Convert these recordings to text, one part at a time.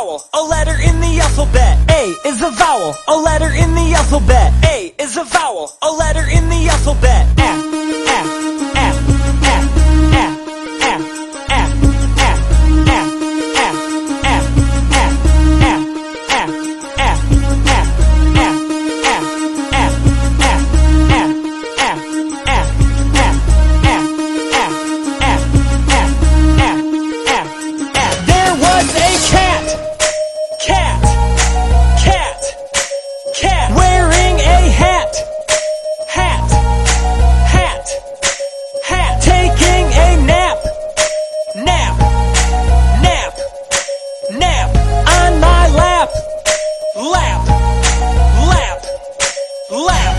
vowel, a letter in the alphabet. A is a vowel, a letter in the alphabet. A is a vowel, a letter in the alphabet. Wearing a hat. Taking a nap. On my lap. Lap.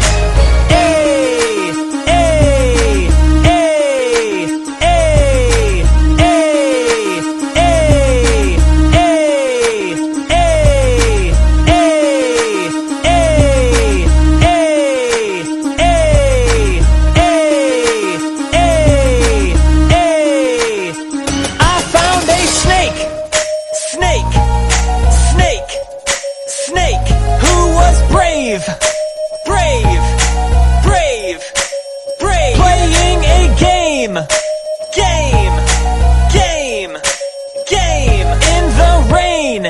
Snake, who was brave. Playing a game. In the rain.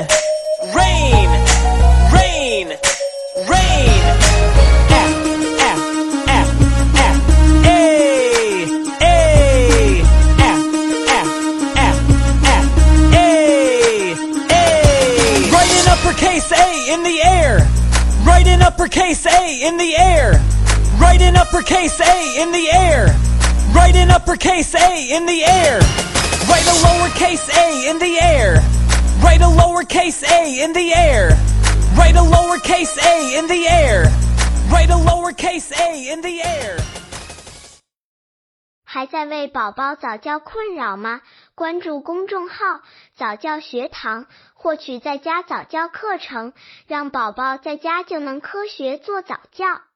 Uppercase A in the air. Write an uppercase A in the air. Write an uppercase A in the air. Write an uppercase A in the air. Write a lowercase a in the air. Write a lowercase a in the air. Write a lowercase a in the air. Write a lowercase a in the air. 还在为宝宝早教困扰吗？关注公众号早教学堂，获取在家早教课程，让宝宝在家就能科学做早教。